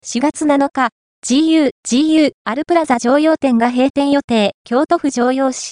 4月7日、GU アルプラザ常陽店が閉店予定、京都府常陽市。